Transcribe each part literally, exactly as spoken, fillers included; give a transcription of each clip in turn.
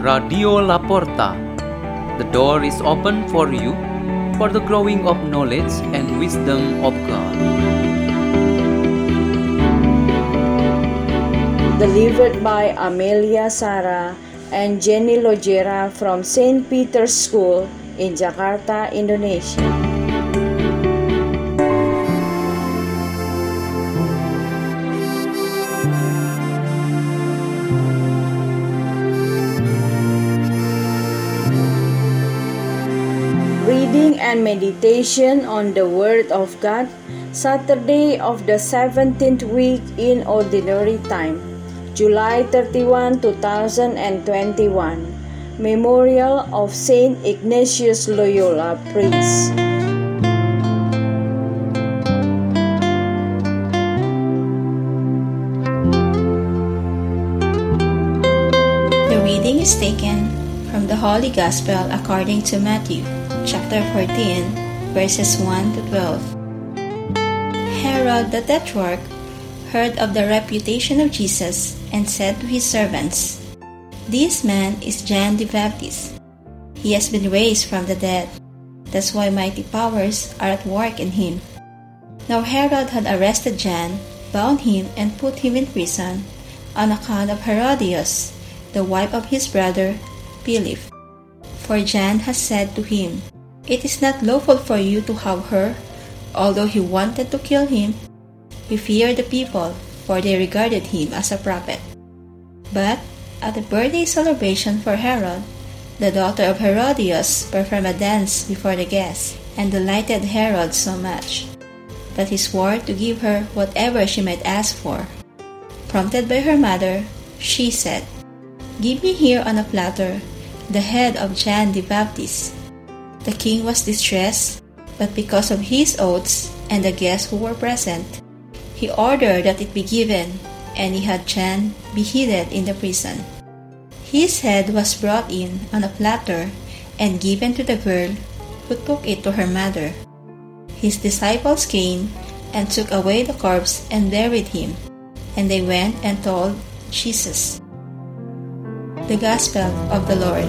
Radio Laporta. The door is open for you for the growing of knowledge and wisdom of God. Delivered by Amelia Sara and Jenny Logera from Saint Peter's School in Jakarta, Indonesia. Reading and meditation on the Word of God, Saturday of the seventeenth week in Ordinary Time, July thirty-first, two thousand twenty-one. Memorial of Saint Ignatius Loyola Priest. The reading is taken from the Holy Gospel according to Matthew, chapter fourteen, verses one to twelve. Herod the Tetrarch heard of the reputation of Jesus and said to his servants, "This man is John the Baptist. He has been raised from the dead. That's why mighty powers are at work in him." Now Herod had arrested John, bound him, and put him in prison on account of Herodias, the wife of his brother Philip. For John has said to him, "It is not lawful for you to have her." Although he wanted to kill him, he feared the people, for they regarded him as a prophet. But at the birthday celebration for Herod, the daughter of Herodias performed a dance before the guests and delighted Herod so much that he swore to give her whatever she might ask for. Prompted by her mother, she said, "Give me here on a platter the head of John the Baptist." The king was distressed, but because of his oaths and the guests who were present, he ordered that it be given, and he had John beheaded in the prison. His head was brought in on a platter and given to the girl, who took it to her mother. His disciples came and took away the corpse and buried him, and they went and told Jesus. The Gospel of the Lord.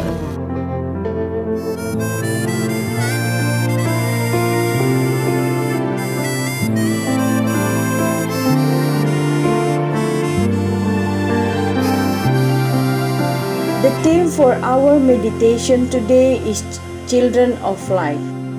The theme for our meditation today is Children of Light.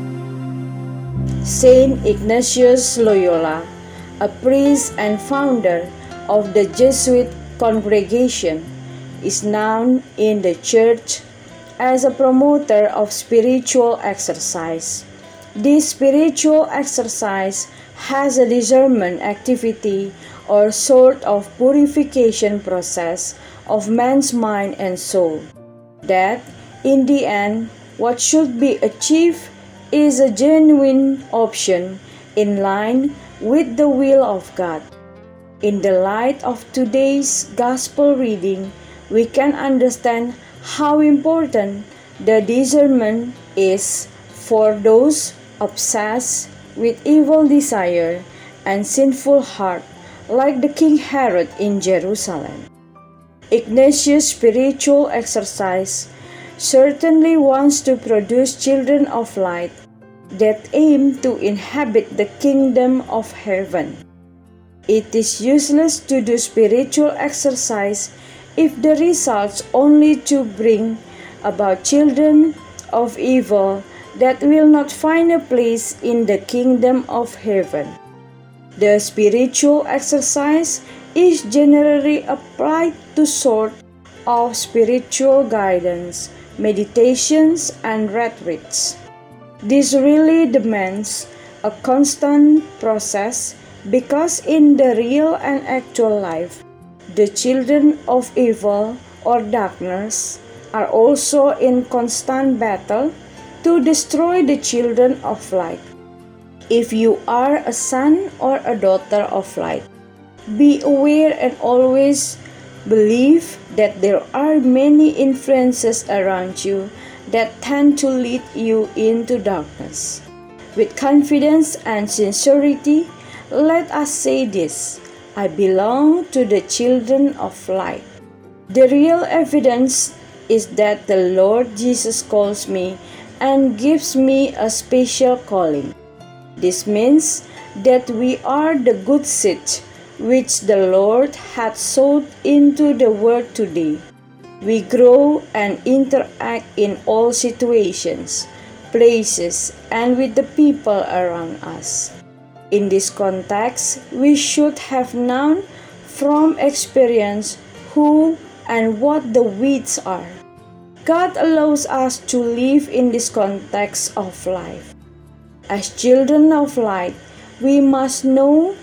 Saint Ignatius Loyola, a priest and founder of the Jesuit congregation, is known in the church as a promoter of spiritual exercise. This spiritual exercise has a discernment activity or sort of purification process of man's mind and soul, that in the end what should be achieved is a genuine option in line with the will of God. In the light of today's gospel reading, we can understand how important the discernment is for those obsessed with evil desire and sinful heart, like the King Herod in Jerusalem. Ignatius' spiritual exercise certainly wants to produce children of light that aim to inhabit the kingdom of heaven. It is useless to do spiritual exercise if the results only to bring about children of evil that will not find a place in the kingdom of heaven. The spiritual exercise is generally applied to sort of spiritual guidance, meditations, and retreats. This really demands a constant process because in the real and actual life, the children of evil or darkness are also in constant battle to destroy the children of light. If you are a son or a daughter of light, be aware and always believe that there are many influences around you that tend to lead you into darkness. With confidence and sincerity, let us say this: I belong to the children of light. The real evidence is that the Lord Jesus calls me and gives me a special calling. This means that we are the good seed which the Lord had sowed into the world today. We grow and interact in all situations, places, and with the people around us. In this context, we should have known from experience who and what the weeds are. God allows us to live in this context of life. As children of light, we must know,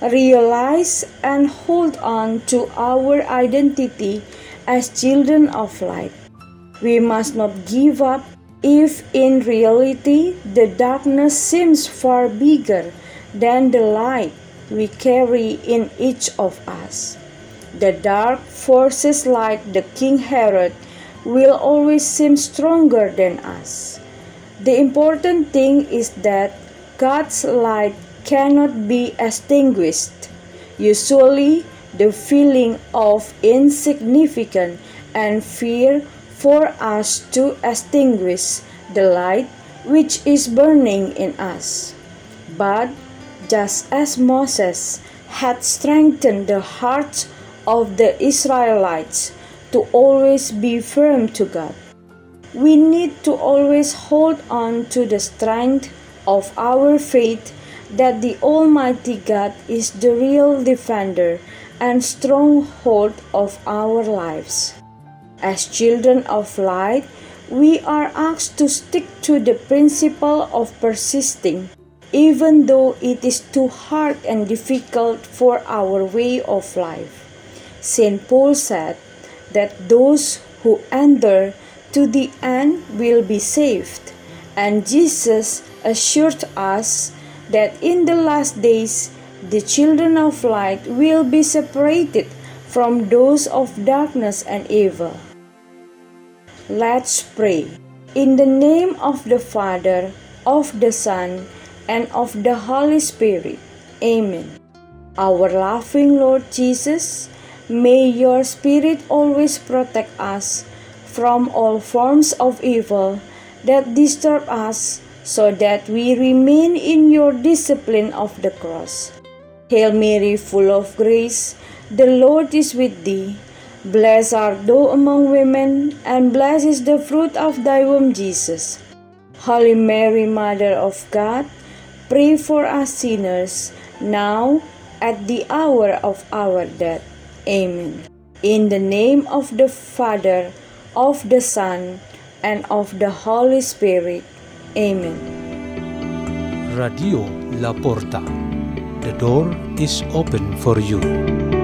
realize, and hold on to our identity as children of light. We must not give up if in reality the darkness seems far bigger than the light we carry in each of us. The dark forces like the King Herod will always seem stronger than us. The important thing is that God's light cannot be extinguished. Usually, the feeling of insignificance and fear for us to extinguish the light which is burning in us. But just as Moses had strengthened the hearts of the Israelites to always be firm to God, we need to always hold on to the strength of our faith that the Almighty God is the real defender and stronghold of our lives. As children of light, we are asked to stick to the principle of persisting, even though it is too hard and difficult for our way of life. Saint Paul said that those who endure to the end will be saved, and Jesus assured us that in the last days the children of light will be separated from those of darkness and evil. Let's pray. In the name of the Father, of the Son, and of the Holy Spirit. Amen. Our loving Lord Jesus, may your Spirit always protect us from all forms of evil that disturb us, so that we remain in your discipline of the cross. Hail Mary, full of grace, the Lord is with thee. Blessed art thou among women, and blessed is the fruit of thy womb, Jesus. Holy Mary, Mother of God, pray for us sinners, now at the hour of our death. Amen. In the name of the Father, of the Son, and of the Holy Spirit. Amen. Radio La Porta. The door is open for you.